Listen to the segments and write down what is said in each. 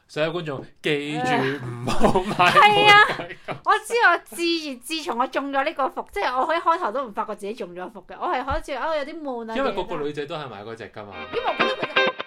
所有觀眾記住唔好買。 係啊，我自從我中咗呢個伏，即係我一開頭都唔發覺自己中咗伏嘅，我係開始有啲悶啊。 因為個個女仔都係買嗰隻㗎嘛。 因為我覺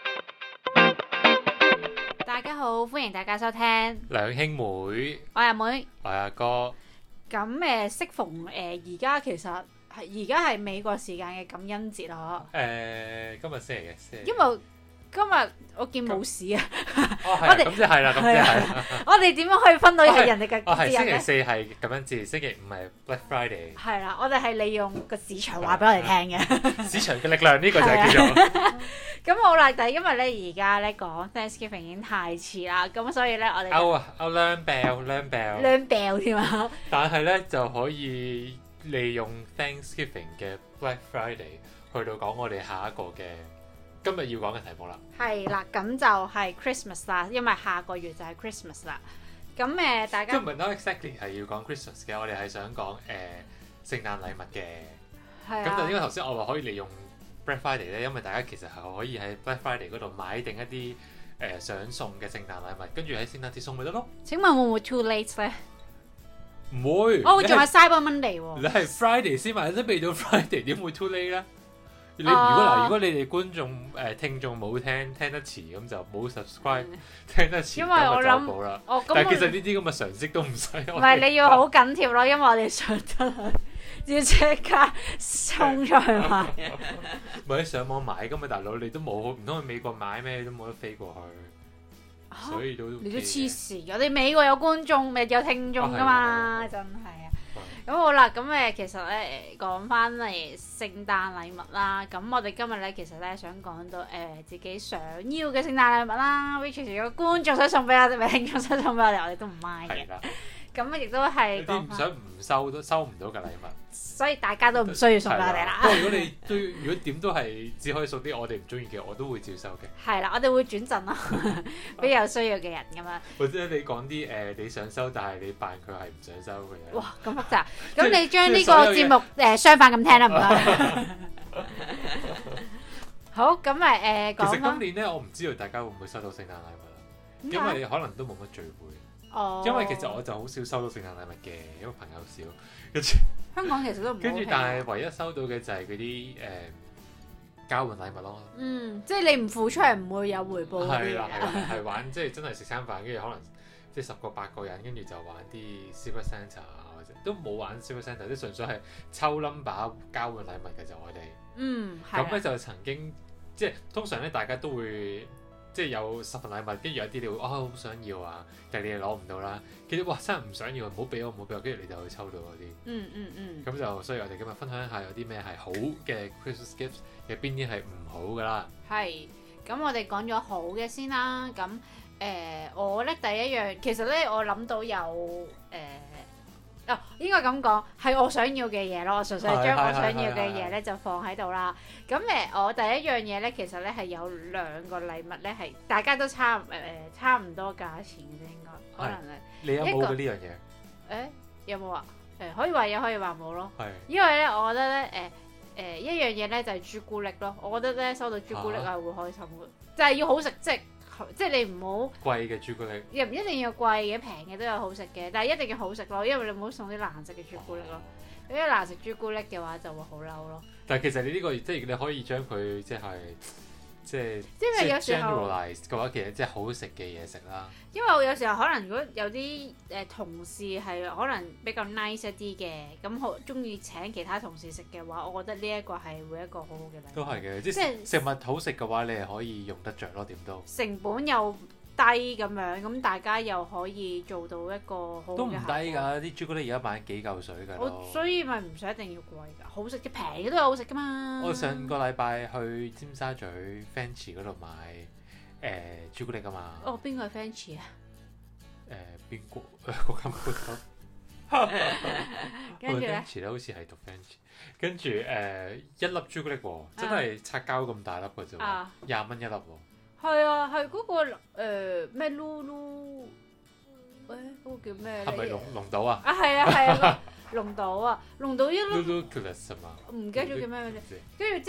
得大家好，歡迎大家收聽兩兄妹， 我係阿妹， 我係阿哥。 咁適逢而家其實而家係美國時間嘅感恩節咯。 今日星期嘅， 因為今日我見冇事啊。 我哋咁即係啦，咁即係。 我哋點樣可以分到係人哋嘅節日星期咧？ 四係感恩節，星期五係 Black Friday。 係啦，我哋係利用個市場話俾我哋聽嘅。 市場嘅力量呢個就係叫做。 咁好啦，但係因為咧而家咧講 Thanksgiving 已經太遲啦，咁所以咧我哋兩病添啊！ 但係咧就可以利用 Thanksgiving 嘅 Black Friday 去到講我哋下一個嘅今日要講嘅題目啦。 係啦，咁就係 Christmas 啦，因為下個月就係 Christmas 啦。咁大家都唔係 not exactly 係要講 Christmas 嘅，我哋係想講聖誕禮物嘅。 係啊。 咁就應該頭先我話可以利用 Black Friday 咧，因為大家其實係可以喺 Black Friday 嗰度買定一啲想送嘅聖誕禮物，跟住喺聖誕節送咪得咯。 請問會唔會 too late 咧？ 唔會。 仲係 Cyber Monday 喎。 你係 Friday 先買，都未到 Friday 點會 too late 咧？如果你哋觀眾聽眾冇聽得遲，咁就冇 subscribe，聽得遲因為我諗咁就走寶啦。但係其實呢啲咁嘅常識都唔使。 唔係你要好緊貼咯，因為我哋上得去要即刻衝出去買。 唔係你上網買噶嘛，大佬你都冇，唔通去美國買咩？你都冇得飛過去，所以都你都黐線嘅，我哋美國有觀眾咪有聽眾噶嘛，真係啊！咁好啦，咁其實咧講翻嚟聖誕禮物啦，咁我哋今日咧其實咧想講到自己想要嘅聖誕禮物啦 ，which 如果觀眾想送俾我哋，咪聽眾想送俾我哋，我哋都唔 mind 嘅。咁亦都係啲唔想唔收都收唔到嘅禮物， 所以大家都唔需要送俾我哋啦。 不過如果點都係只可以送啲我哋唔中意嘅，我都會照收嘅。 係啦，我哋會轉贈咯，俾有需要嘅人咁樣。 或者你講啲你想收，但係你扮佢係唔想收嘅人。 哇，咁複雜！咁你將呢個節目相反咁聽啦，唔該。好，咁咪講。 其實今年咧，我唔知道大家會唔會收到聖誕禮物啦，因為可能都冇乜聚會。因為其實我就好少收到聖誕禮物嘅，因為朋友少。跟住香港其實都唔。 跟住，但係唯一收到嘅就係嗰啲交換禮物咯。 即係你唔付出係唔會有回報嗰啲嘢。係玩即係真係食餐飯，跟住可能即係10個8個人，跟住就玩啲 Secret Santa 啊，或者都冇玩 Secret Santa，即係純粹係抽 number 交換禮物嘅就我哋。咁咧就曾經即係通常咧，大家都會。即係有10份禮物，跟住有啲你會好想要啊，但係你又攞唔到啦。跟住哇真係唔想要，唔好俾我，跟住你就會抽到嗰啲。咁就所以我哋今日分享下有啲咩係好嘅 Christmas gifts， 有邊啲係唔好㗎啦。 係，咁我哋講咗好嘅先啦。咁我咧第一樣，其實咧我諗到有應該咁講，係我想要嘅嘢咯。我純粹將我想要嘅嘢咧就放喺度啦。咁我第一樣嘢咧，其實咧係有2個禮物咧，係大家都差唔多價錢嘅應該，可能係。 你有冇嘅呢樣嘢？ 有冇啊？可以話有，可以話冇咯。 係。 因為咧，我覺得咧一樣嘢咧就係朱古力咯。我覺得咧收到朱古力係會開心嘅，就係要好食，即係你唔好貴嘅朱古力， 又唔一定要貴嘅，平嘅都有好食嘅，但係一定要好食咯，因為你唔好送啲難食嘅朱古力咯。如果難食朱古力嘅話，就會好嬲咯。 但係其實你呢個即係你可以將佢即係因為有時候 generalize 嘅話，其實即係好食嘅嘢食啦。 因為我有時候可能如果有啲同事係可能比較 nice 一啲嘅，咁好中意請其他同事食嘅話，我覺得呢一個係會一個好好嘅禮物。 都係嘅，即係食物好食嘅話，你係可以用得着咯，點都成本又低咁樣，咁大家又可以做到一個好嘅效果。 都唔低㗎，啲朱古力而家賣幾嚿水㗎。 所以咪唔使一定要貴㗎，好食嘅平嘅都有好食㗎嘛。 我上個禮拜去尖沙咀 Fancy 嗰度買朱古力㗎嘛。 邊個係 Fancy 啊？ 邊個嗰間鋪頭？ 跟住咧 ，Fancy 咧好似係讀 Fancy， 跟住一粒朱古力喎，真係擦膠咁大粒㗎啫喎，20蚊一粒喎。係啊，係嗰個咩 Lulu， 嗰個叫咩？ 係咪龍島啊？ 係啊，龍島啊，龍島一粒。 Lulu Clues 係嘛？ 唔記得咗叫咩名啫。跟住之後，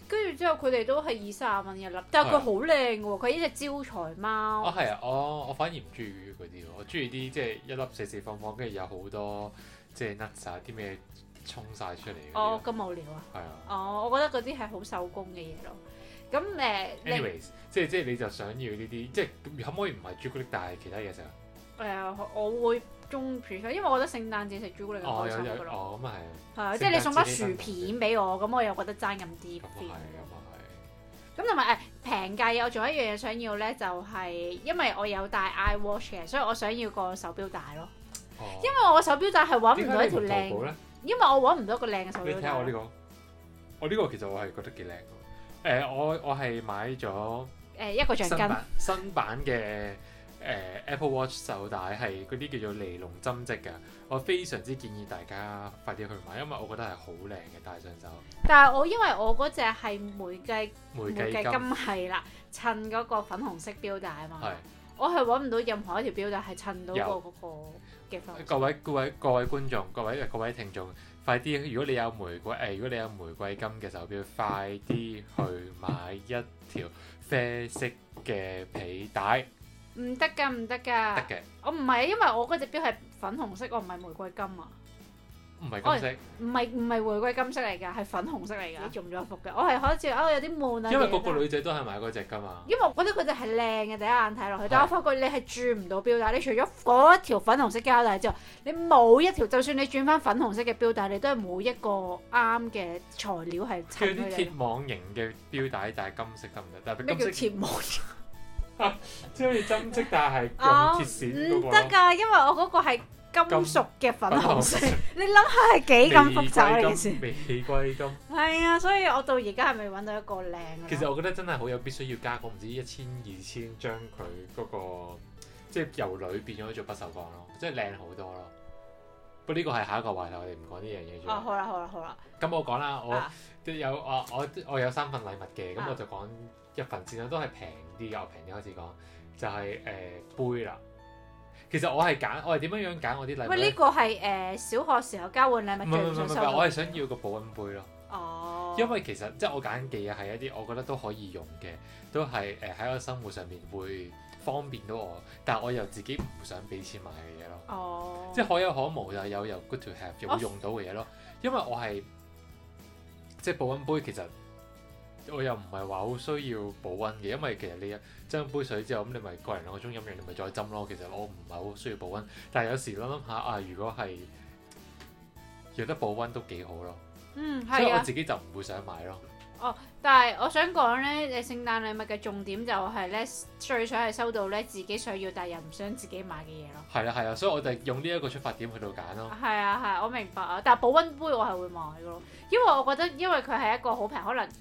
跟住之後佢哋都係20-30蚊一粒，但係佢好靚嘅喎，佢係一隻招財貓。 係啊，我反而唔中意嗰啲喎，我中意啲即係一粒四四方方，跟住有好多即係 nuts 啊啲咩衝晒出嚟。 哦，咁無聊啊！ 係啊。 哦，我覺得嗰啲係好手工嘅嘢咯。咁 anyways，即係你就想要呢啲，即係可唔可以唔係朱古力，但係其他嘢食啊？ 我會中意，因為我覺得聖誕節食朱古力係開心嘅咯。 哦，咁啊係啊，即係你送包薯片俾我，咁我又覺得爭咁啲 feel。咁同埋平價嘢，我仲有一樣嘢想要咧，就係因為我有戴 iWatch 嘅，所以我想要個手錶帶咯。因為我個手錶帶係揾唔到一條靚，因為我揾唔到一個靚嘅手錶帶。你睇下我呢個，我呢個其實我係覺得幾靚嘅。我係買咗一個橡筋新版嘅Apple Watch 手帶，係嗰啲叫做尼龍針織嘅。我非常之建議大家快啲去買，因為我覺得係好靚嘅戴上手。 但係因為我嗰隻係玫瑰金係啦，襯嗰個粉紅色錶帶啊嘛。我係揾唔到任何一條錶帶係襯到嗰個嘅粉紅色。 各位觀眾，各位聽眾，快啲！如果你有玫瑰金嘅手錶，快啲去買一條啡色嘅皮帶。 唔得㗎，唔得㗎。 得嘅。我唔係，因為我嗰隻錶係粉紅色，我唔係玫瑰金啊。 唔係金色。 唔係玫瑰金色嚟㗎，係粉紅色嚟㗎。中咗伏嘅，我係好似有啲悶啊。 因為個女仔都係買嗰隻㗎嘛。 因為我覺得嗰隻係靚嘅，第一眼睇落去，但我發覺你係轉唔到錶帶。你除咗嗰一條粉紅色膠帶之外，你冇一條，就算你轉翻粉紅色嘅錶帶，你都係冇一個啱嘅材料係襯佢哋。 叫啲鐵網型嘅錶帶，但係金色得唔得？ 咩叫鐵網型？ 即係好似針織，但係用鐵線嗰個。 唔得㗎，因為我嗰個係金屬嘅粉紅色。你諗下係幾咁複雜呢件事？ 玫瑰金。 係啊，所以我到而家係未揾到一個靚。 其實我覺得真係好有必須要加工，唔知1000-2000將佢嗰個即係由鋁變咗做不鏽鋼咯，即係靚好多咯。不過呢個係下一個話題，我哋唔講呢樣嘢住。 好啦。咁我講啦，我有3份禮物嘅，咁我就講一份先啦，都係平啲嘅，我平啲開始講，就係杯啦。其實我係點樣揀我啲禮物？喂， 呢個係小學時候交換禮物最想收到。 我係想要個保溫杯咯。 哦。 因為其實即係我揀嘅嘢係一啲我覺得都可以用嘅，都係喺我生活上面會方便到我，但係我又自己唔想俾錢買嘅嘢咯。 哦。即係可有可無，就有 good to have 又會用到嘅嘢咯。因為我係即係保溫杯，其實我又唔係話好需要保溫嘅，因為其實你斟杯水之後，咁你咪個人2個鐘飲完，你咪再斟咯。其實我唔係好需要保溫，但係有時諗下啊，如果係有得保溫都幾好咯。所以我自己就唔會想買咯。 但係我想講咧，聖誕禮物嘅重點就係咧，最想係收到咧自己想要但係又唔想自己買嘅嘢咯。 係啊，所以我就用呢一個出發點去到揀咯。 係啊，我明白啊。但係保溫杯我係會買嘅咯，因為我覺得因為佢係一個好平，可能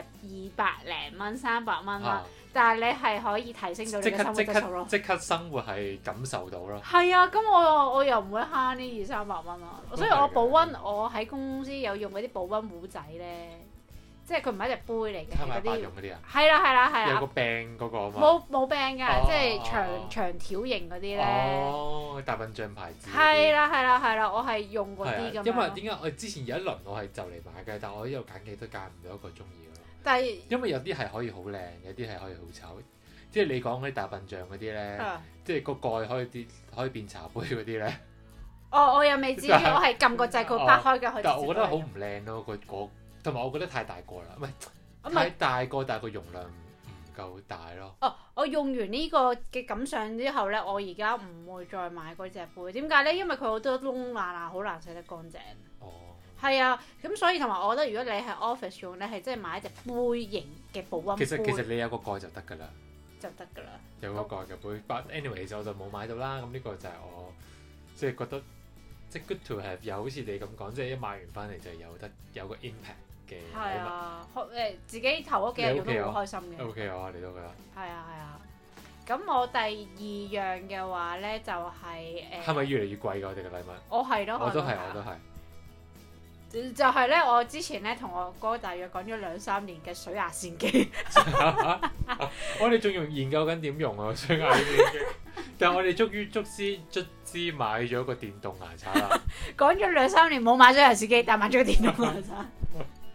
200零蚊、300蚊啦，但係你係可以提升到你嘅生活質素咯。 即刻生活係感受到咯。 係啊，咁我又唔會慳呢200-300蚊啊，所以我保溫我喺公司有用嗰啲保溫壺仔咧。即係佢唔係一隻杯嚟嘅， 嗰啲用嗰啲啊。 係啦。 有個柄嗰個啊嘛。 冇柄㗎，即係長條型嗰啲咧。 大笨象牌子。 係啦，我係用嗰啲㗎嘛。 因為點解我之前有一輪我係就嚟買嘅，但我呢度揀嘅都揀唔到一個中意嘅咯。 但係因為有啲係可以好靚，有啲係可以好醜。即係你講嗰啲大笨象嗰啲咧，即係個蓋可以變茶杯嗰啲咧。 我又未至於，我係撳個掣佢拍開嘅。 但係我覺得好唔靚咯，同埋我覺得太大個啦，唔係太大個，但係個容量唔夠大咯。 我用完呢個嘅感想之後咧，我而家唔會再買嗰隻杯。點解咧？因為佢好多窿罅，好難洗得乾淨。係啊，咁所以同埋我覺得，如果你係 office 用咧，係真係買一隻杯型嘅保溫杯。 其實你有個蓋就得㗎啦。有個蓋嘅杯，but anyway 我就冇買到啦。咁呢個就係我即係覺得即係 good to have，又好似你咁講，即係一買完翻嚟就有個 impact。 係啊，自己頭嗰幾日用都好開心嘅。 OK 啊，你都覺得？ 係啊。咁我第2樣嘅話咧，就係係咪越嚟越貴㗎？我哋嘅禮物？ 我都係。就係咧，我之前咧同我哥大約講咗2-3年嘅水牙線機。 我哋仲研究緊點用啊水牙線機，但係我哋卒之買咗個電動牙刷啦。 講咗2-3年冇買水牙線機，但買咗個電動牙刷。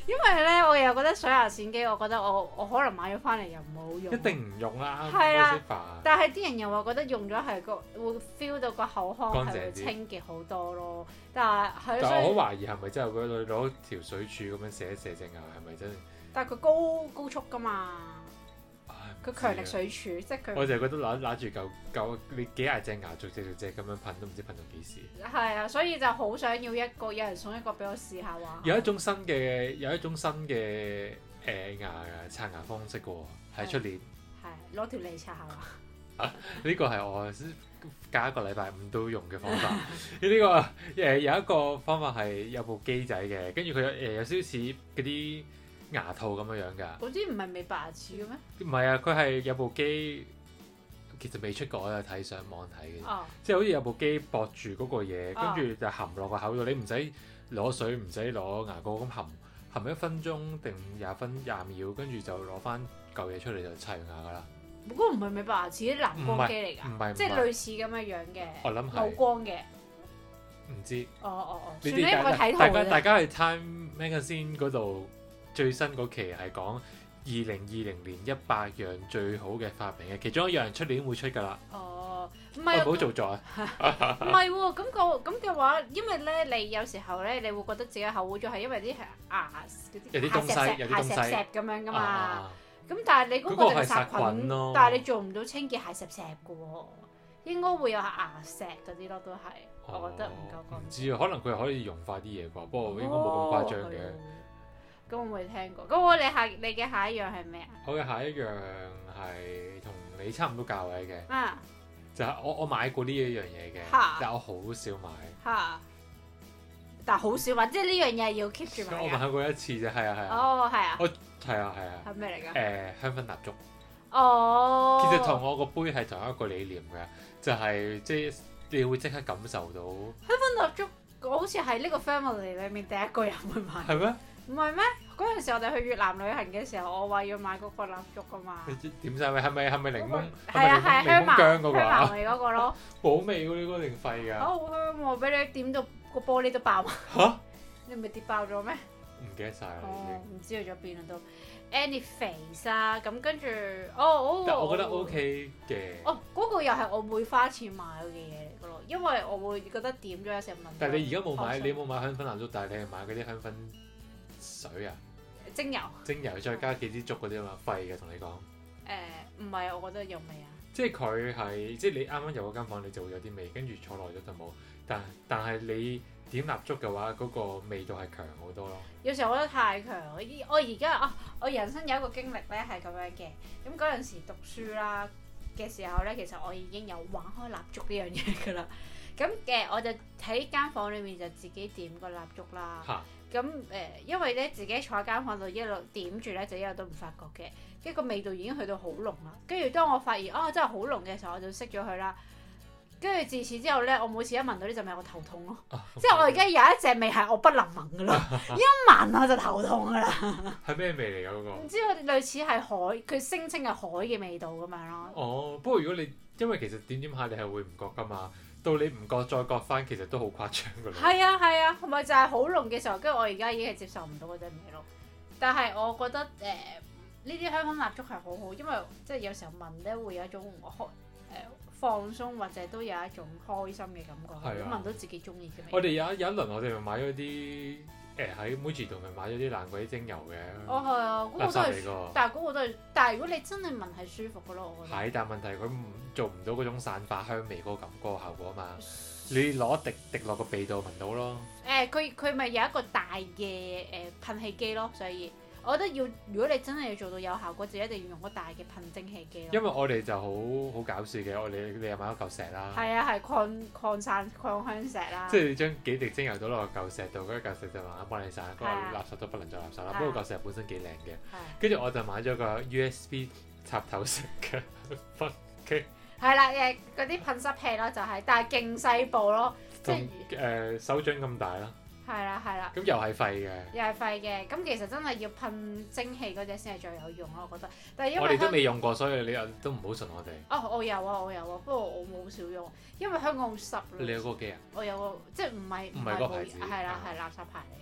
因為咧，我又覺得水牙線機，我覺得我可能買咗翻嚟又唔好用。 一定唔用啦， 係啊， 煩。 但係啲人又話覺得用咗係會 feel 到個口腔係會乾淨啲清潔好多咯。但係但我好懷疑係咪真係佢攞條水柱咁樣射一射隻牙係咪真係？ 但係佢高速㗎嘛，佢強力水柱，即係佢。 我就係覺得揦住嚿你幾廿隻牙逐隻咁樣噴都唔知噴到幾時。 係啊，所以就好想要有人送一個俾我試下話。 有一種新嘅牙刷牙方式嘅喎，喺出年。 係攞條脷刷下嘛。 呢個係我隔一個禮拜五都用嘅方法。呢個有一個方法係有部機仔嘅，跟住佢有少少似嗰啲牙套咁樣㗎。 嗰啲唔係美白牙齒嘅咩？ 唔係啊，佢係有部機，其實未出過，我有睇上網睇嘅。即係好似有部機駁住嗰個嘢，跟住就含落個口度，你唔使攞水，唔使攞牙膏咁含1分鐘定20秒，跟住就攞翻嚿嘢出嚟就刷完牙㗎啦。 嗰個唔係美白牙齒，啲藍光機嚟㗎，即係類似咁嘅樣嘅， 我諗係冇光嘅。 唔知。 算啦，我睇圖啫。 大家去 Time Magazine 嗰度最新嗰期係講2020年100樣最好嘅發明嘅，其中一樣出年會出㗎啦。 唔係， 唔好做作啊！ 唔係喎，咁嘅話，因為咧，你有時候咧，你會覺得自己口污咗，係因為啲牙有啲東西咁樣㗎嘛。咁但係你嗰個就係殺菌咯，但係你做唔到清潔蟹石嘅喎，應該會有牙石嗰啲咯，都係，我覺得唔夠乾淨。 唔知啊，可能佢可以溶化啲嘢啩，不過應該冇咁誇張嘅。 咁我未聽過。咁你嘅下一樣係咩啊？ 我嘅下一樣係同你差唔多價位嘅，就係我買過呢一樣嘢嘅，但係我好少買。 但係好少買，即係呢樣嘢要 keep 住買。 我買過一次啫，係啊。 係啊。 係啊。 係咩嚟㗎？ 香薰蠟燭。 其實同我個杯係同一個理念嘅，就係即係你會即刻感受到。 香薰蠟燭，我好似係呢個 family 裡面第一個人會買。 係咩？ 唔係咩？嗰陣時我哋去越南旅行嘅時候，我話要買嗰個蠟燭㗎嘛。 點晒味？係咪檸檬？ 係啊，香茅薑嗰個啊？ 香茅味嗰個咯。 好味喎！呢個定廢㗎？ 好香喎！俾你點到個玻璃都爆。 嚇！ 你唔係跌爆咗咩？ 唔記得晒啦， 唔知去咗邊啦都。Anyface 啊，咁跟住但我覺得 OK 嘅。 嗰個又係我會花錢買嘅嘢嚟㗎咯，因為我會覺得點咗有時問。 但係你而家冇買，你冇買香薰蠟燭，但係你係買嗰啲香薰水啊？ 精油再加幾支竹嗰啲啊嘛，廢嘅同你講。 唔係，我覺得有味啊。 即係佢係，即係你啱啱入嗰間房，你就會有啲味，跟住坐耐咗就冇。但係你點蠟燭嘅話，嗰個味道係強好多咯。有時候我覺得太強，我而家我人生有一個經歷咧係咁樣嘅。咁嗰陣時讀書啦嘅時候咧，其實我已經有玩開蠟燭呢樣嘢㗎啦。咁我就喺間房裏面就自己點個蠟燭啦。咁因為咧自己坐喺間房度一路點住咧，就一路都唔發覺嘅。跟住個味道已經去到好濃啦。跟住當我發現真係好濃嘅時候，我就熄咗佢啦。跟住自此之後咧，我每次一聞到呢陣味，我頭痛咯。即係我而家有一隻味係我不能聞㗎啦，一聞我就頭痛㗎啦。 係咩味嚟㗎嗰個？ 唔知佢類似係海，佢聲稱係海嘅味道咁樣咯。 不過如果你因為其實點下你係會唔覺㗎嘛，到你唔覺再覺翻，其實都好誇張㗎啦。 係啊，同埋就係好濃嘅時候，跟住我而家已經係接受唔到嗰陣味咯。但係我覺得呢啲香薰蠟燭係好好，因為即係有時候聞咧會有一種放鬆或者都有一種開心嘅感覺，聞到自己中意嘅味。 我哋有一輪我哋咪買咗啲喺 Muji 度咪買咗啲爛鬼精油嘅。 係啊，嗰個都係，但係嗰個都係，但係如果你真係聞係舒服嘅咯，我覺得。係， 但係問題佢做唔到嗰種散發香味嗰個效果啊嘛。你攞滴落個鼻度聞到咯。 佢咪有一個大嘅噴氣機咯，所以。我覺得如果你真係要做到有效果，就一定要用個大嘅噴蒸氣機咯。因為我哋就好搞笑嘅，你又買咗嚿石啦。 係啊，係礦香石啦。 即係你將幾滴精油倒落個嚿石度，嗰嚿石就慢慢幫你散，嗰個垃圾都不能再垃圾啦。不過嚿石本身幾靚嘅，跟住我就買咗個 USB 插頭式嘅噴機。係啦，嗰啲噴濕器咯，就係，但係勁細部咯，即係手掌咁大啦。 係啦。咁又係廢嘅。 咁其實真係要噴蒸氣嗰隻先係最有用咯，我覺得。但係因為我哋都未用過，所以你又都唔好信我哋。 我有啊，不過我冇少用，因為香港好濕咯。 你有嗰個機啊？ 我有個，即係唔係嗰個牌子，係垃圾牌嚟嘅。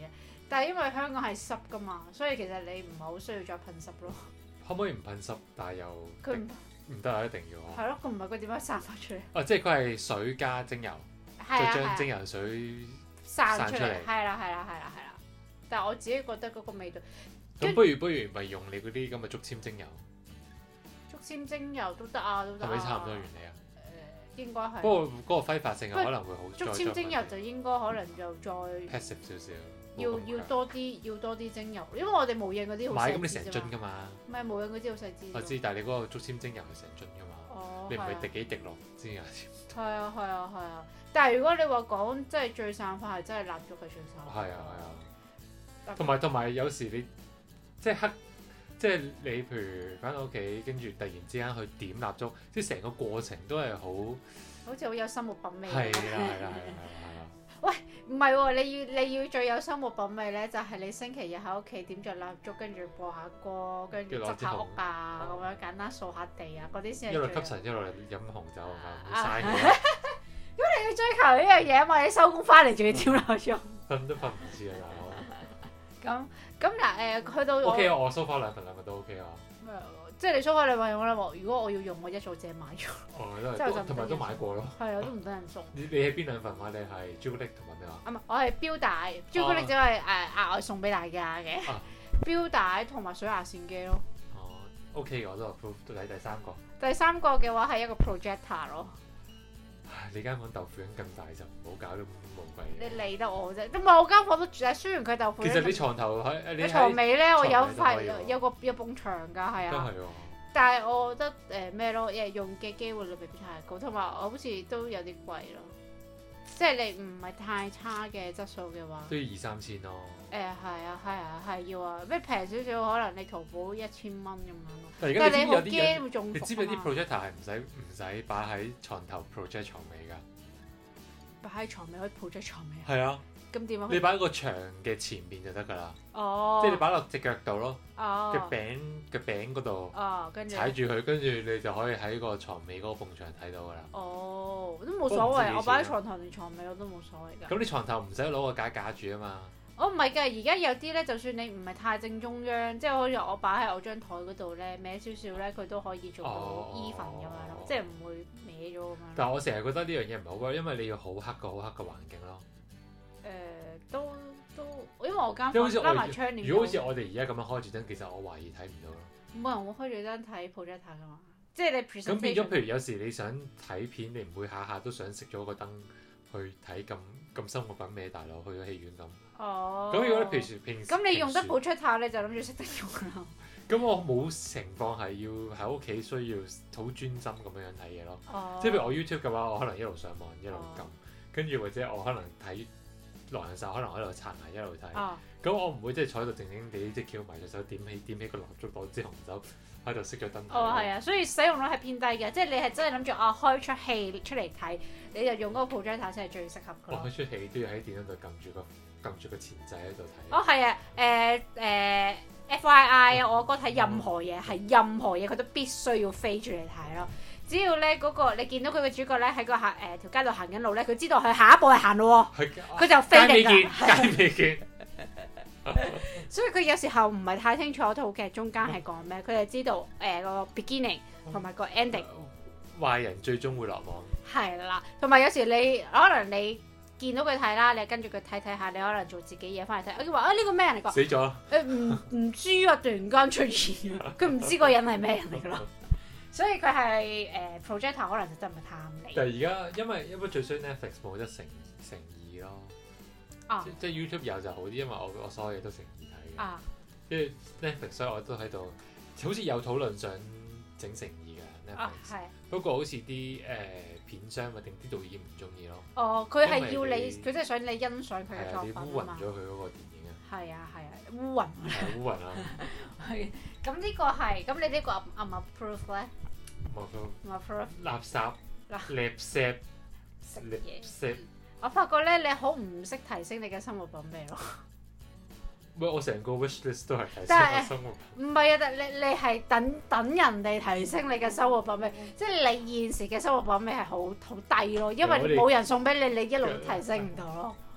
但係因為香港係濕噶嘛，所以其實你唔係好需要再噴濕咯。 可唔可以唔噴濕？但係又佢唔得啊！一定要啊！ 係咯，佢唔係佢點樣散發出嚟？ 哦，即係佢係水加精油， 係啊再將精油水散出嚟。 出嚟。 係啦。但係我自己覺得嗰個味道。 咁不如咪用你嗰啲咁嘅竹籤精油， 竹籤精油都得啊，都得啊。 係咪差唔多原理啊？ 應該係。 不過嗰個揮發性可能會好。 竹籤精油就應該可能就再 passive 少少。 要多啲精油，因為我哋無印嗰啲好細支啫嘛。 買咁你成樽㗎嘛？ 唔係無印嗰啲好細支。 我知，但係你嗰個竹籤精油係成樽㗎嘛？ 哦。 你唔係滴幾滴落先有？ 係啊，但係如果你話講即係最散發係真係蠟燭係最散發。 係啊。同埋有時你即係你譬如返到屋企，跟住突然之間去點蠟燭，即係成個過程都係好似好有生活品味。 係啦。 喂，唔係喎，你要最有生活品味咧，就係你星期日喺屋企點著蠟燭，跟住播下歌，跟住執下屋啊，咁樣簡單掃下地啊，嗰啲先係。一路吸塵一路飲紅酒啊，唔嘥嘅。 咁你要追求呢樣嘢啊嘛，你收工翻嚟仲要點蠟燭。 瞓都瞓唔知啊，大佬。咁嗱去到 OK 啊，我梳化兩份都 OK 啊。 即係你梳化你咪用啦，如果我要用，我一早自己買咗。 同埋都買過咯。係啊，都唔得人送。 你係邊兩份買？你係朱古力同埋咩話？ 唔係，我係錶帶，朱古力只係額外送俾大家嘅。錶帶同埋水牙線機咯。 哦 ，OK 嘅，我都 approve。到第三個。 第三個嘅話係一個 projector 咯。 你間房豆腐咁大就唔好搞啲無謂嘢。 你理得我啫，唔係我間房都住，雖然佢豆腐。 其實你床頭你床尾咧，我有埲牆㗎，係啊。 都係喎。 但係我覺得咩咯，用嘅機會率未必太高，同埋我好似都有啲貴咯。即係你唔係太差嘅質素嘅話， 都要2-3千咯。 係要啊，咩平少少可能你淘寶1000蚊咁樣咯。 但係你好驚會中伏啊嘛。 你知唔知啲 projector 係唔使擺喺床頭 project 床尾㗎？ 擺喺床尾可以 project 床尾啊？ 係啊。 咁點啊？ 你擺喺個牆嘅前面就得㗎啦。 哦。 即係你擺落隻腳度咯。 哦。 嘅餅嗰度。 哦，跟住。 踩住佢，跟住你就可以喺個床尾嗰個埲牆睇到㗎啦。 哦，都冇所謂，我擺喺床頭定床尾我都冇所謂㗎。 咁你床頭唔使攞個架架住啊嘛。 我唔係㗎，而家有啲咧，就算你唔係太正中央，即係好似我擺喺我張台嗰度咧，歪少少咧，佢都可以做到 even 咁樣咯，即係唔會歪咗咁樣。 但係我成日覺得呢樣嘢唔係好㗎，因為你要好黑嘅環境咯。 都，因為我間房拉埋窗簾。 如果好似我哋而家咁樣開住燈，其實我懷疑睇唔到咯。 冇人會開住燈睇 projector 㗎嘛，即係你 presentation。 咁變咗，譬如有時你想睇片，你唔會下下都想熄咗個燈去睇咁生活品味大佬去咗戲院咁。 哦。 咁如果你平時咁你用得 projector 你就諗住識得用啦。 咁我冇情況係要喺屋企需要好專心咁樣睇嘢咯。 哦。 即係譬如我 YouTube 嘅話，我可能一路上網一路撳，跟住或者我可能睇狼人殺，可能喺度刷牙一路睇。咁我唔會即係坐喺度靜靜地即係翹埋隻手點起個蠟燭攞支紅酒喺度熄咗燈。 哦，係啊，所以使用率係偏低嘅，即係你係真係諗住開出戲出嚟睇，你就用嗰個 projector 先係最適合嘅。 開出戲都要喺電腦度撳住個前掣喺度睇。 哦，係啊，FYI 啊，我哥睇任何嘢係任何嘢，佢都必須要飛住嚟睇咯。只要咧嗰個你見到佢嘅主角咧喺個條街度行緊路咧，佢知道佢下一步係行路喎，佢就飛嚟㗎。 街未見。 所以佢有時候唔係太清楚套劇中間係講咩，佢就知道個 beginning 同埋個 ending。 壞人最終會落網。係啦，同埋有時你可能你見到佢睇啦，你跟住佢睇下，你可能做自己嘢翻嚟睇，我話呢個咩人嚟㗎？ 死咗。 唔知啊，突然間出現，佢唔知個人係咩人嚟㗎咯。所以佢係projector 可能就真係唔係太啱你。 但係而家因為最衰 Netflix 冇得乘2咯。即係 YouTube 有就好啲，因為我所有嘢都乘2睇嘅。即係 Netflix，所以我都喺度，好似有討論想整乘2嘅 Netflix。不過好似啲片商或定啲導演唔中意咯。哦，佢係要你，佢真係想你欣賞佢嘅作品啊嘛。你污暈咗佢嗰個電影啊。係啊，污暈。係污暈啊。係。咁呢個係，咁你呢個唔 approve 咧？唔 approve。垃圾。垃圾。食嘢。我發覺咧，你好唔識提升你嘅生活品味咯。喂，我成個 wish list 都係提升我生活品味。唔係啊，但你係等人哋提升你嘅生活品味，即係你現時嘅生活品味係好低咯，因為冇人送俾你，你一路都提升唔到咯。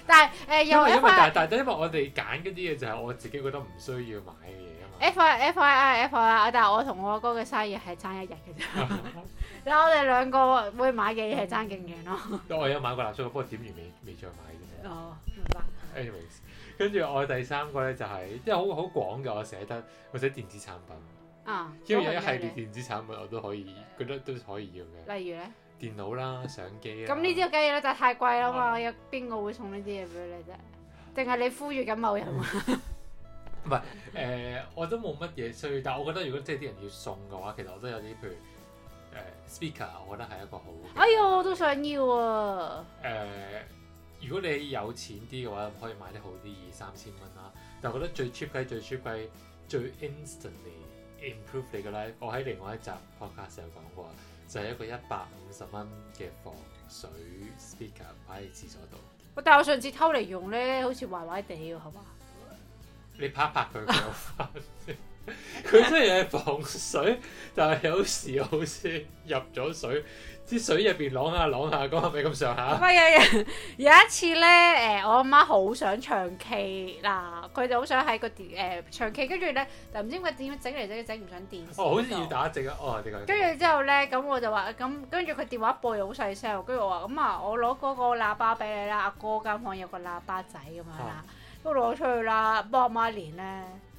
但係因為我哋揀嗰啲嘢就係我自己覺得唔需要買嘅嘢啊嘛。 FYI，但係我同我阿哥嘅生日係爭一日嘅啫。但係我哋兩個會買嘅嘢係爭勁遠咯。 我有買過蠟燭，不過點完未再買啫。 哦，明白。 anyways， 跟住我第三個咧就係即係好廣嘅，我寫電子產品。因為有一系列電子產品我都可以覺得都可以要嘅。例如咧？電腦啦、相機啦。咁呢啲梗係啦，但係太貴啦嘛，有邊個會送呢啲嘢俾你啫？定係你呼籲緊某人啊？唔係我都冇乜嘢需要，但係我覺得如果即係啲人要送嘅話，其實我都有啲譬如speaker， 我覺得係一個好。哎呀，我都想要啊！如果你有錢啲嘅話，可以買啲好啲，2,000-3,000蚊啦。但係我覺得最 cheap 雞、最 instantly improve 你嘅 life， 我喺另外一集 podcast 有講過，就係一個150蚊嘅防水 speaker 擺喺廁所度。但係我上次偷嚟用咧，好似壞壞地喎，係嘛？你拍一拍佢有翻先。佢雖然係防水，但係有時好似入咗水，啲水入邊啷下，咁係咪咁上下？唔係有一次咧，我阿媽好想唱 K 嗱，佢就好想喺個唱 K， 跟住咧，但唔知點解整嚟整唔上電視。好似要打直啊！點解？跟住之後咧，咁我就話咁，跟住佢電話播又好細聲，跟住我話咁啊，我攞嗰個喇叭俾你啦，阿哥間房有個喇叭仔咁樣啦，都攞出去啦，幫阿媽連咧。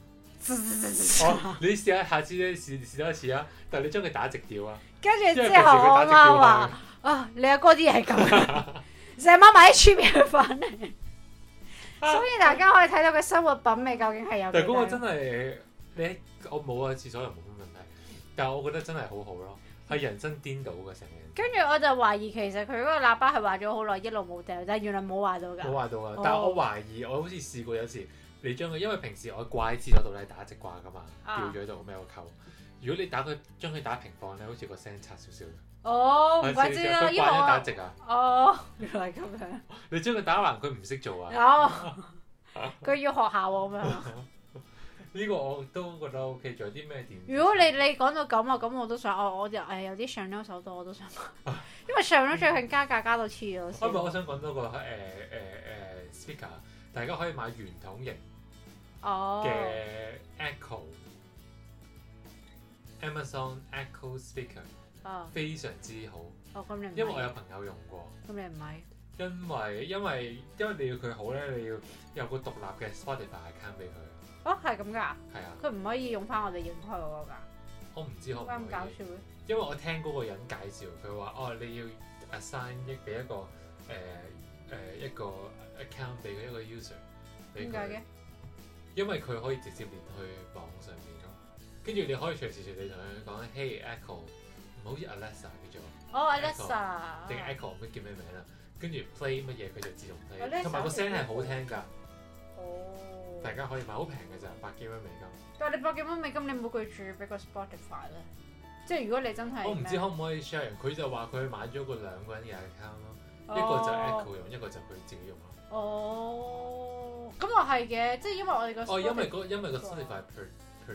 你試下，下次咧試多一次啊！但係你將佢打直調啊！跟住之後我阿媽話：啊，你阿哥啲嘢係咁，成晚買啲出面去翻嚟。所以大家可以睇到佢生活品味究竟係有幾大。但係嗰個真係我冇啊，廁所又冇乜問題。但係我覺得真係好好咯，係人生顛倒嘅成日。跟住我就懷疑其實佢嗰個喇叭係壞咗好耐，一路冇掉，但係原來冇壞到㗎。冇壞到啊！但係我懷疑，我好似試過有時。你將佢，因為平時我掛喺廁所度咧打直掛噶嘛，吊咗喺度咩個扣。如果你將佢打平放咧，好似個聲差少少。哦，唔怪之啦，因為我打直啊。哦，原來咁樣。你將佢打橫，佢唔識做啊。哦，佢要學校喎咁樣。呢個我都覺得 OK。仲有啲咩電？如果你講到咁啊，咁我都想，我有啲上咗手袋我都想買，因為上咗最近加價加到黐咗線。我想講多個speaker， 大家可以買圓筒型。嘅 Amazon Echo Speaker， 非常之好。因為我有朋友用過。咁你唔買？因為你要佢好咧，你要有個獨立嘅 Spotify account 俾佢。哦，係咁㗎？係啊。佢唔可以用翻我哋影開嗰個㗎？我唔知可唔可以。咁搞笑嘅。因為我聽嗰個人介紹，佢話你要 assign 俾一個 account 俾一個 user 俾佢。點解嘅？因為佢可以直接連去網上面咯，跟住你可以隨時隨地同佢講 Hey Echo， 唔好似 Alexa 叫做。哦 Alexa。定 Echo 唔知叫咩名啦，跟住 play 乜嘢佢就自動 play， 同埋個聲係好聽㗎。哦。大家可以買，好平嘅咋，100幾蚊美金。但係你100幾蚊美金，你冇記住俾個 Spotify 咧？即係如果你真係。我唔知可唔可以 share，佢就話佢買咗個2個人嘅 account 咯，一個就 Echo 用，一個就佢自己用咯。哦，咁又係嘅，即係因為我哋個因為個 Spotify per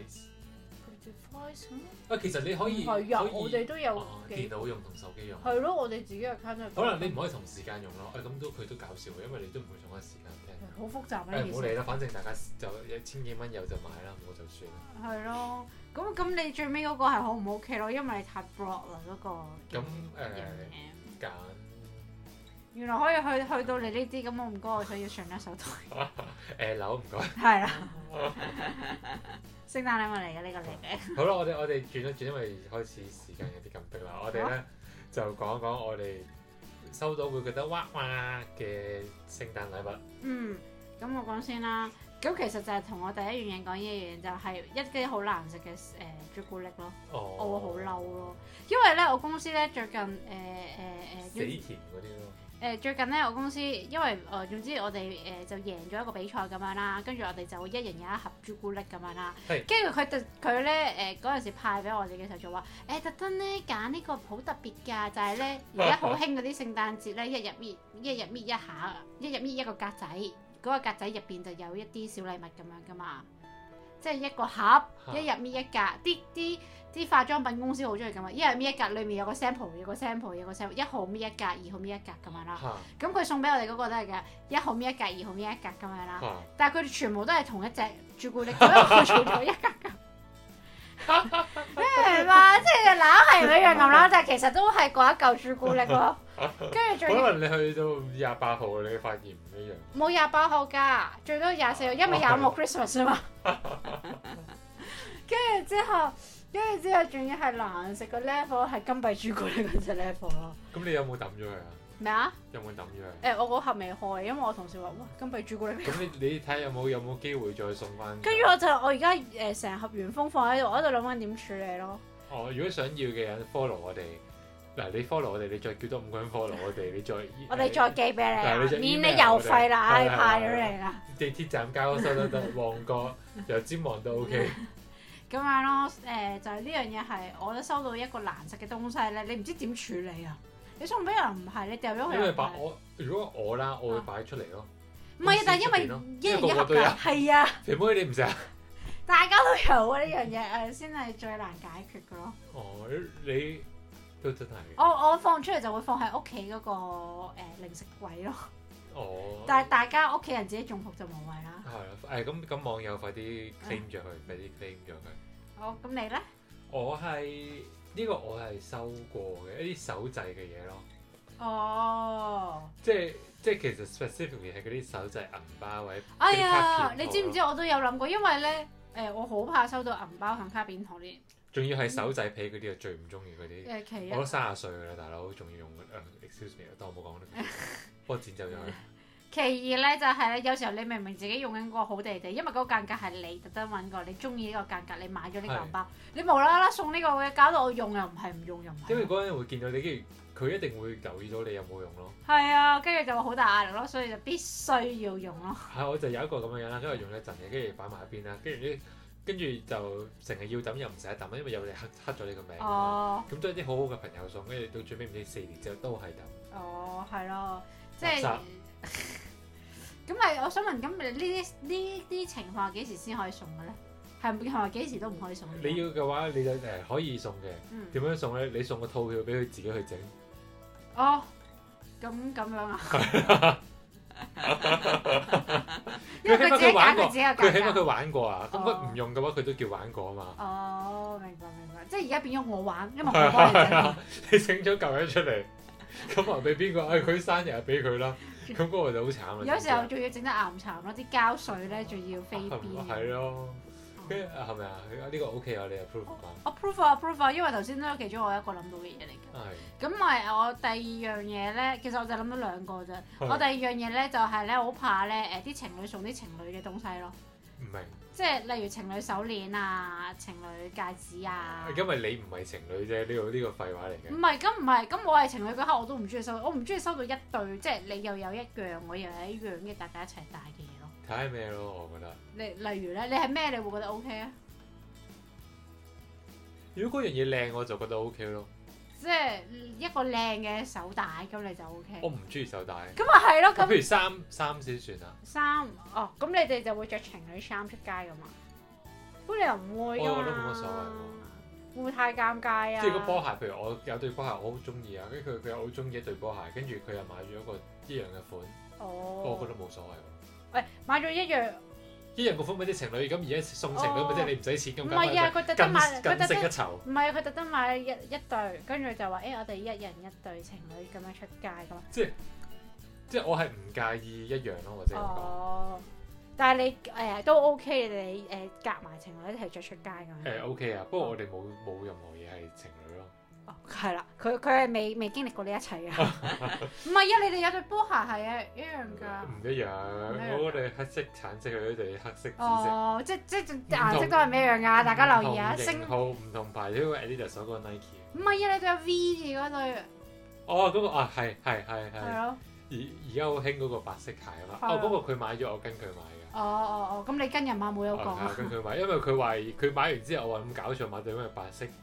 device 其實你可以我哋都有電腦用同手機用。係咯，我哋自己嘅 account 可能你唔可以同時間用咯。咁佢都搞笑嘅，因為你都唔會同一時間聽。好複雜呢件事。唔好理啦，反正大家就1000幾蚊有就買啦，冇就算啦。係咯，咁你最尾嗰個係好唔 OK 咯？因為你太 broad 啦嗰個。咁揀。原來可以去到你呢啲，咁我唔該，我想要上一手袋。樓唔該。係啦。聖誕禮物嚟嘅呢個嚟嘅。好啦，我哋轉一轉，因為開始時間有啲咁逼啦。我哋咧就講一講我哋收到會覺得哇嘅聖誕禮物。咁我講先啦。咁其實就係同我第一樣嘢講一樣，就係一啲好難食嘅朱古力咯。我會好嬲咯，因為咧我公司咧最近死甜嗰啲咯。最近咧，我公司因為總之我哋就贏咗一個比賽咁樣啦，跟住我哋就一人有一盒朱古力咁樣啦。跟住佢咧嗰陣時派俾我哋嘅時候就話特登咧揀呢個好特別㗎，就係咧而家好興嗰啲聖誕節咧，一日搣一下，一日搣一個格仔，嗰個格仔入邊就有一啲小禮物咁樣㗎嘛。 即係一個盒，一日搣一格。啲化妝品公司好中意咁啊！一日搣一格，裡面有個 sample， 有個 sample， 有個 sample， 1號搣一格，2號搣一格咁樣啦。咁佢送俾我哋嗰個都係嘅，1號搣一格，2號搣一格咁樣啦。但係佢哋全部都係同一隻朱古力，只不過佢做咗一格格。你明嘛？即係硬係一樣咁啦，但係其實都係嗰一嚿朱古力咯。跟住可能你去到28號，你發現唔一樣。 冇28號㗎，最多24號，因為25號 Christmas 啊嘛。跟住之後仲要係難食個 level 係金幣朱古力嗰隻 level 咯。咁你有冇抌咗佢啊？ 咩啊？ 有冇抌咗佢？ 我嗰盒未開，因為我同事話：哇，金幣朱古力。咁你睇下有冇機會再送翻？ 跟住我而家成盒原封放喺度，我喺度諗緊點處理咯。 如果想要嘅人 follow 我哋，嗱你 follow 我哋，你再叫多5個人 follow 我哋，你再我哋再寄俾你，免你郵費啦，你派咗嚟啦。 地鐵站交收都得，旺角油尖旺都 OK。 咁樣咯，就係呢樣嘢係，我都收到一個難食嘅東西咧，你唔知點處理啊？你送俾人唔係，你掉咗佢。因為如果我啦，我會擺出嚟咯。 唔係啊，但係因為一人一盒㗎，係啊。 肥妹你唔食啊？ 大家都有啊，呢樣嘢先係最難解決㗎咯。 你都真係。 我放出嚟就會放喺屋企嗰個零食櫃咯。但係大家屋企人自己中伏就無謂啦。 係啦，咁網友快啲 claim 咗佢，快啲 claim 咗佢。 好，咁你咧？ 我係收過嘅一啲手製嘅嘢咯。 即係其實 specifically 係嗰啲手製銀包或者。 哎呀，你知唔知我都有諗過，因為咧我好怕收到銀包同卡片糖啲。 仲要係手製皮嗰啲，我最唔中意嗰啲。我都30歲㗎啦，大佬，仲要用excuse me，當我冇講啦，幫我剪走咗佢。 其二咧就係咧，有時候你明明自己用緊個好地地，因為嗰個間隔係你特登揾過，你中意呢個間隔，你買咗呢個銀包，你無啦啦送呢個嘅，搞到我用又唔係，唔用又唔係。 因為嗰人會見到你，跟住佢一定會留意到你有冇用咯。 係啊，跟住就好大壓力咯，所以就必須要用咯。 係，我就有一個咁嘅樣啦，跟住用一陣嘅，跟住擺埋一邊啦，跟住就成日要抌又唔捨得抌，因為有你刻咗你個名。咁都係啲好好嘅朋友送，跟住到最尾唔知4年之後都係抌。 係咯，即係。咁咪我想問，咁呢啲情況幾時先可以送嘅咧？係咪幾時都唔可以送？ 你要嘅話，你就可以送嘅。點樣送咧？你送個套票俾佢自己去整。 咁樣啊？ 因為佢自己揀佢自己嘅價格。佢起碼佢玩過啊，咁佢唔用嘅話，佢都叫玩過啊嘛。 明白。即係而家變咗我玩，因為我幫你整。 你整咗嚿嘢出嚟，咁話俾邊個？佢生日俾佢啦。咁嗰個就好慘啦！ 有時候仲要整得岩殘咯，啲膠水咧仲要飛邊。 係咯，跟住係咪啊？呢個 OK 啊，你 approve 啊？approve 啊，因為頭先都係其中我一個諗到嘅嘢嚟嘅。 係。 咁咪我第二樣嘢咧，其實我就諗到2個啫。我第二樣嘢咧就係咧好怕咧啲情侶送啲情侶嘅東西咯。 唔明。 即係例如情侶手鏈啊、情侶戒指啊。 因為你唔係情侶啫，呢個廢話嚟嘅。 唔係，咁我係情侶嗰刻我都唔中意收，我唔中意收到一對，即係你又有一樣，我又有一樣嘅，大家一齊戴嘅嘢咯。 睇下咩咯，我覺得。 例如咧，你係咩你會覺得 OK 啊？ 如果嗰樣嘢靚，我就覺得 OK 咯。 即係一個靚嘅手帶，咁你就 OK。 我唔中意手帶。 咁咪係咯，咁。 譬如衫先算啊。 咁你哋就會着情侶衫出街噶嘛？咁你又唔會㗎嘛？ 我覺得冇乜所謂喎。 會唔會太尷尬啊？ 即係個波鞋，譬如我有對波鞋，我好中意啊，跟住佢又好中意一對波鞋，跟住佢又買咗一個一樣嘅款。我覺得冇所謂喎。 喂，買咗一樣嘅款俾啲情侶，咁而家送情侶咪即係你唔使錢咁。 唔係啊，佢特登買， 更勝一籌。 唔係啊，佢特登買一對，跟住就話我哋一人一對情侶咁樣出街㗎嘛。 即係我係唔介意一樣咯，或者咁講。 但係你都 OK，你夾埋情侶一齊着出街咁。 OK 啊，不過我哋冇任何嘢係情侶咯。 係啦，佢係未經歷過呢一切嘅。唔係啊，你哋有對波鞋係一樣㗎。唔一樣， 我哋黑色、橙色，佢哋黑色、紫色。 即顏色都係唔一樣㗎，大家留意啊。 型號唔同牌，因為 Adidas 嗰個 Nike。 唔係啊，你對有 V 字嗰對。 嗰個係。 係咯。 而家好興嗰個白色鞋啊嘛。不過佢買咗，我跟佢買嘅。 咁你跟人馬冇有講啊？ 跟佢買，因為佢話佢買完之後，我話咁搞錯買對咩白色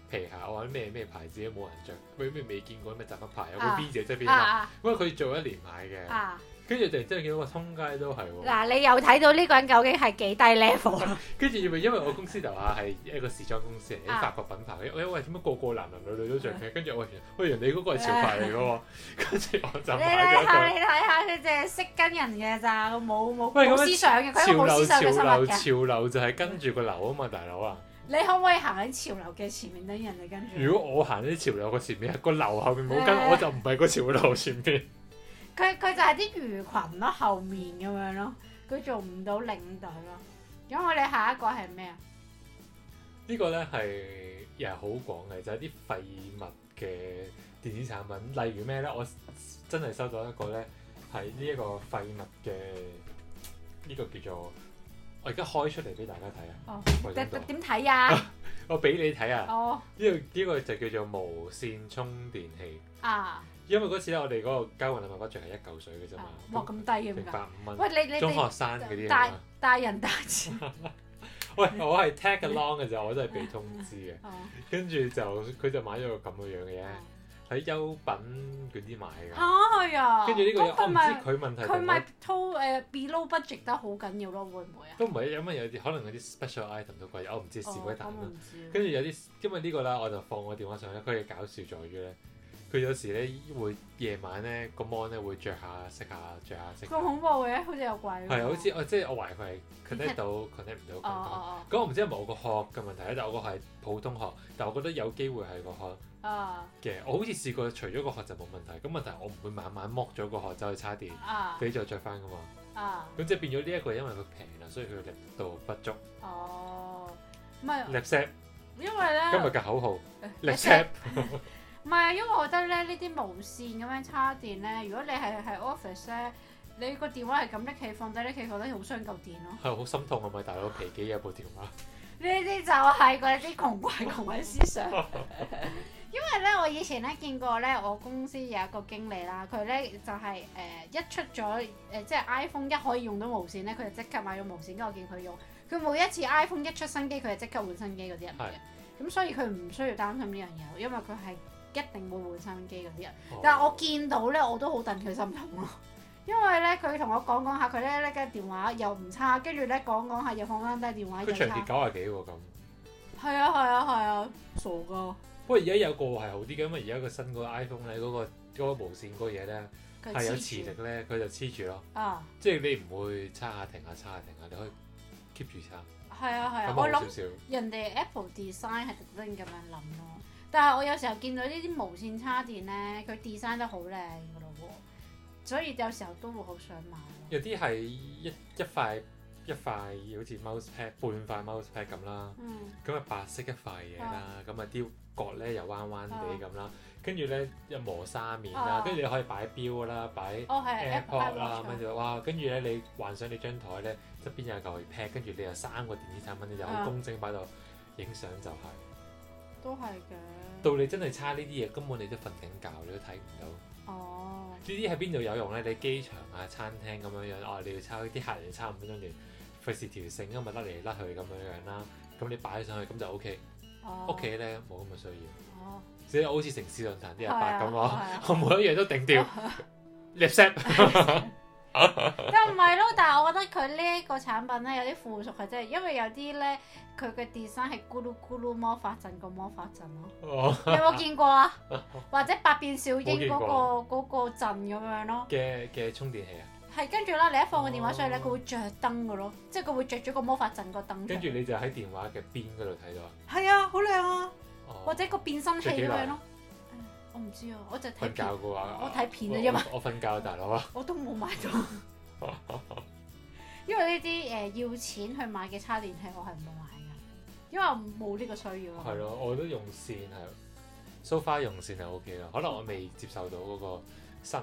皮鞋，我話咩牌子都冇人着，咩未見過咩雜乜牌，有個 V 字側邊嘛，因為佢做一年買嘅。跟住突然之間見到個通街都係喎。嗱， 你又睇到呢個人究竟係幾低 level？ 跟住因為我公司樓下係一個時裝公司嚟，啲法國品牌。喂，點解個個男女都着嘅？跟住我喂，人哋嗰個係潮牌嚟嘅喎。跟住我就買咗佢。 你睇下，佢淨係識跟人嘅咋，冇思想嘅。佢冇思想嘅生物嘅。 潮流就係跟住個流啊嘛，大佬啊！ 你可唔可以行喺潮流嘅前面，等人哋跟住？ 如果我行喺潮流嘅前面，個流後面冇跟，我就唔係個潮流前面。 佢就係啲魚群咯，後面咁樣咯，佢做唔到領隊咯。咁我哋下一個係咩啊？ 呢個咧係又係好廣嘅，就係啲廢物嘅電子產品，例如咩咧？我真係收到一個咧，係呢一個廢物嘅呢個叫做，我而家開出嚟俾大家睇啊！ 哦，點睇啊？ 我俾你睇啊！ 哦， 呢個就叫做無線充電器啊！因為嗰次咧，我哋嗰個交換禮物 budget 係1嚿水嘅啫嘛。 哇，咁低嘅㗎！150蚊。 喂，你中學生嗰啲大人大錢。 喂，我係 tag along 嘅啫，我真係被通知嘅。跟住佢就買咗個咁嘅樣嘅嘢，喺優品嗰啲買㗎。 係啊。跟住呢個我唔知佢問題。 佢咪below budget 得好緊要咯，會唔會啊？ 都唔係，因為有啲可能嗰啲 special item 都貴，我唔知試過一啖啦。跟住有啲，因為呢個啦，我就放我電話上咧，佢嘅搞笑在於咧。佢有時咧會夜晚咧個 mon 咧會着下熄下着下熄。咁恐怖嘅，好似有鬼。 係好似即係我懷疑佢係 connect 到 connect 唔到咁。咁我唔知係咪我個殼嘅問題咧，但係我個係普通殼，但係我覺得有機會係個殼嘅。我好似試過除咗個殼就冇問題，咁問題我唔會晚晚剝咗個殼走去叉電，俾再着翻噶嘛。咁即係變咗呢一個，因為佢平啦，所以佢力度不足。 唔係。 Lipset。 因為咧。 今日嘅口號。Lipset。 唔係，因為我覺得咧呢啲無線咁樣叉電咧，如果你係 office 咧，你個電話係咁拎起放低，拎起放低好傷嚿電咯。係好心痛啊！咪大佬皮幾有部電話？ 呢啲就係嗰啲窮鬼思想。因為咧，我以前咧見過咧，我公司有一個經理啦，佢咧就係一出咗即係 iPhone 一可以用到無線咧，佢就即刻買咗無線。跟住我見佢用，佢每一次 iPhone 一出新機，佢就即刻換新機嗰啲人嚟嘅。咁所以佢唔需要擔心呢樣嘢，因為佢係。一定會換新機嗰啲人，但係我見到咧，我都好戥佢心痛咯。因為咧，佢同我講下，佢咧嘅電話又唔差，跟住咧講下又放翻低電話。 佢長期90幾喎咁。 係啊，傻噶。 不過而家有個係好啲嘅，因為而家個新嗰個 iPhone 咧，嗰個無線嗰個嘢咧係有磁力咧，佢就黐住咯。即係你唔會叉下停下，你可以 keep 住叉。係啊， 我諗人哋 Apple design 係特登咁樣諗咯。但係我有時候見到呢啲無線叉電咧，佢 design 得好靚噶咯喎，所以有時候都會好想買。 有啲係一塊好似 mouse pad 半塊 mouse pad 咁啦，咁啊白色一塊嘢啦，咁啊啲角咧又彎彎地咁啦，跟住咧又磨砂面啦，跟住你可以擺錶啦，擺 AirPod 啦，跟住哇，跟住咧你幻想你張台咧側邊有嚿 pad，跟住你有3個電子產品，你就好工整擺度影相就係。 都係嘅。 到你真係叉呢啲嘢，根本你都瞓緊覺，你都睇唔到。呢啲喺邊度有用咧？你機場啊、餐廳咁樣樣，你要叉啲客人叉5分鐘連，費事條繩咁咪甩嚟甩去咁樣樣啦。咁你擺上去咁就 OK。屋企咧冇咁嘅需要。即係好似城市論壇啲阿伯咁我每一樣都頂掉。Lipset。又唔係咯，但係我覺得佢呢一個產品咧有啲附屬係真係，因為有啲咧佢嘅 design 係咕嚕咕嚕魔法陣個魔法陣咯。你有冇見過啊？或者百變小櫻嗰個陣咁樣咯。 嘅充電器啊？ 係，跟住啦，你一放個電話上去咧，佢會着燈嘅咯，即係佢會着咗個魔法陣個燈。 跟住你就喺電話嘅邊嗰度睇到啊？ 係啊，好靚啊！或者個變身器咁樣咯。我唔知啊，我就睇瞓覺嘅話， 我睇片啊，因為我瞓覺大佬啊， 我都冇買到，因為呢啲要錢去買嘅叉電器我係唔會買㗎，因為我冇呢個需要咯。 係咯，我都用線係，so far 用線係 OK 啦，可能我未接受到嗰個新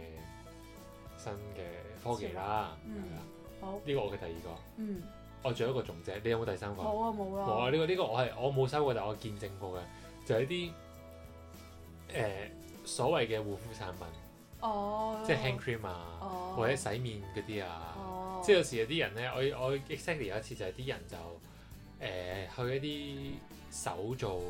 嘅科技啦。好，呢個我嘅第2個。我仲有一個仲姐，你有冇第3個？ 冇啊，冇啦。 冇啊，呢個我冇收過，但係我見證過嘅，就係啲。所謂嘅護膚產品，即係 hand cream 啊，或者洗面嗰啲啊，即係有時有啲人咧，我 exactly 有一次就係啲人就去一啲手做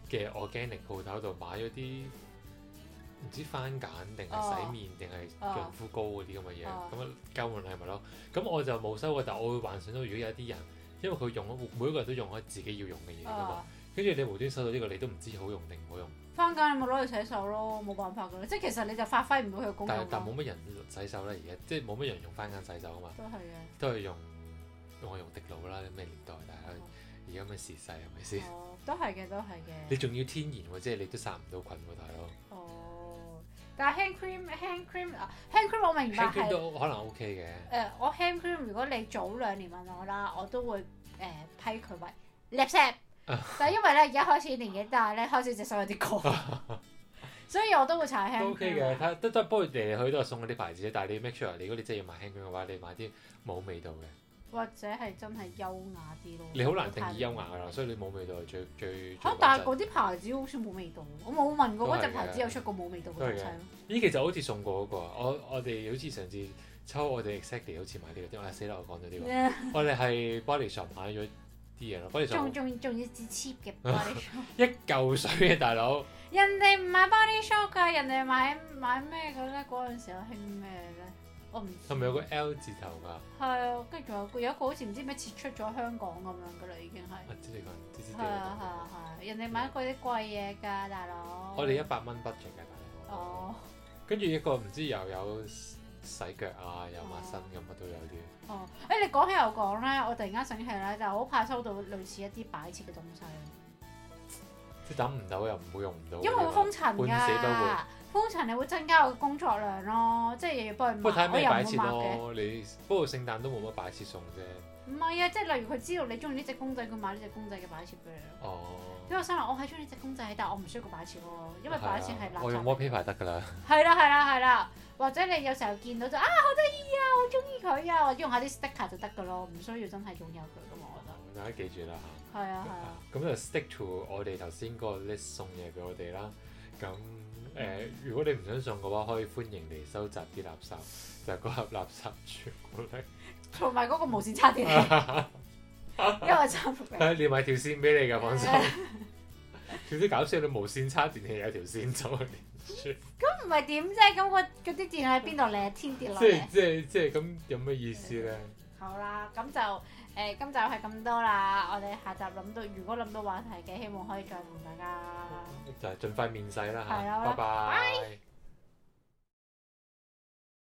嘅 organic 鋪頭度買咗啲唔知番梘定係洗面定係潤膚膏嗰啲咁嘅嘢，咁啊交換禮物咯。咁我就冇收過，但我會幻想到如果有啲人，因為佢用咗每一個人都用開自己要用嘅嘢㗎嘛，跟住你無端收到呢個，你都唔知好用定唔好用。 番梘你咪攞去洗手咯，冇辦法㗎啦，即係其實你就發揮唔到佢嘅功用。 但冇乜人洗手啦，而家即係冇乜人用番梘洗手啊嘛。 都係嘅。 都係用我用滴露啦，咩年代大家而家咩時勢係咪先？ 都係嘅，都係嘅。 你仲要天然喎，即係你都殺唔到菌喎，大佬。 但係 hand cream 我明白係。hand cream 都可能 OK 嘅。 我 hand cream 如果你早2年問我啦，我都會批佢為 lipstick。但係因為咧而家開始年紀大咧，開始隻手有啲乾，所以我都會搽 hand cream。 OK 嘅，都不過嚟嚟去都係送嗰啲牌子，但係你 make sure 如果你真係要買 hand cream 嘅話，你買啲冇味道嘅。 或者係真係優雅啲咯。 你好難定義優雅㗎啦，所以你冇味道係最但係嗰啲牌子好似冇味道，我冇問過嗰隻牌子有出過冇味道嘅東西咯。 咦，其實好似送過嗰個，我哋好似上次抽我哋 exactly 好似買呢個，死啦！我講咗呢個，我哋係 Body Shop 買咗啲嘢咯，Body Shop 仲要至 cheap 嘅 Body Shop， 一嚿水嘅大佬。 人哋唔買 Body Shop 㗎，人哋買咩嘅咧？嗰陣時候興咩咧？我唔知。 係咪有個 L 字頭㗎？ 係啊，跟住仲有一個好似唔知咩撤出咗香港咁樣㗎啦，已經係。 知你講， 係啊，人哋買嗰啲貴嘢㗎，大佬。 我哋100蚊 budget 嘅大佬。 哦。 跟住一個唔知又有洗腳啊，又抹身咁乜都有啲。 哦，你講起又講咧，我突然間醒起咧，就好怕收到類似一啲擺設嘅東西。 即係等唔到又唔會用唔到。 因為會封塵㗎。 半死不活。 封塵你會增加我嘅工作量咯，即係又要幫佢抹。 不過睇咩擺設咯， 你不過聖誕都冇乜擺設送啫。 唔係啊，即係例如佢知道你中意呢隻公仔，佢買呢隻公仔嘅擺設俾你咯。哦。因為我心諗我係中意呢隻公仔，但係我唔需要個擺設喎，因為擺設係垃圾。 我用 wallpaper 得㗎啦。 係啦，或者你有時候見到就好得意啊，好中意佢啊，或者用下啲 sticker 就得㗎咯，唔需要真係擁有佢㗎嘛，我覺得。 大家記住啦嚇。 係啊。 咁就 stick to 我哋頭先嗰個 list 送嘢俾我哋啦。咁如果你唔想送嘅話，可以歡迎嚟收集啲垃圾，就係嗰盒垃圾傳過嚟。 同埋嗰個無線插電器，因為插電。 連埋條線俾你㗎，放心。少啲搞笑，你無線插電器有條線走去連住。 咁唔係點啫？咁嗰啲電喺邊度嚟？天跌落嚟。 即係咁有咩意思咧？ 好啦，咁就今集係咁多啦。我哋下集如果諗到話題嘅，希望可以再同大家。 就係盡快面世啦嚇， 係啦， 拜拜。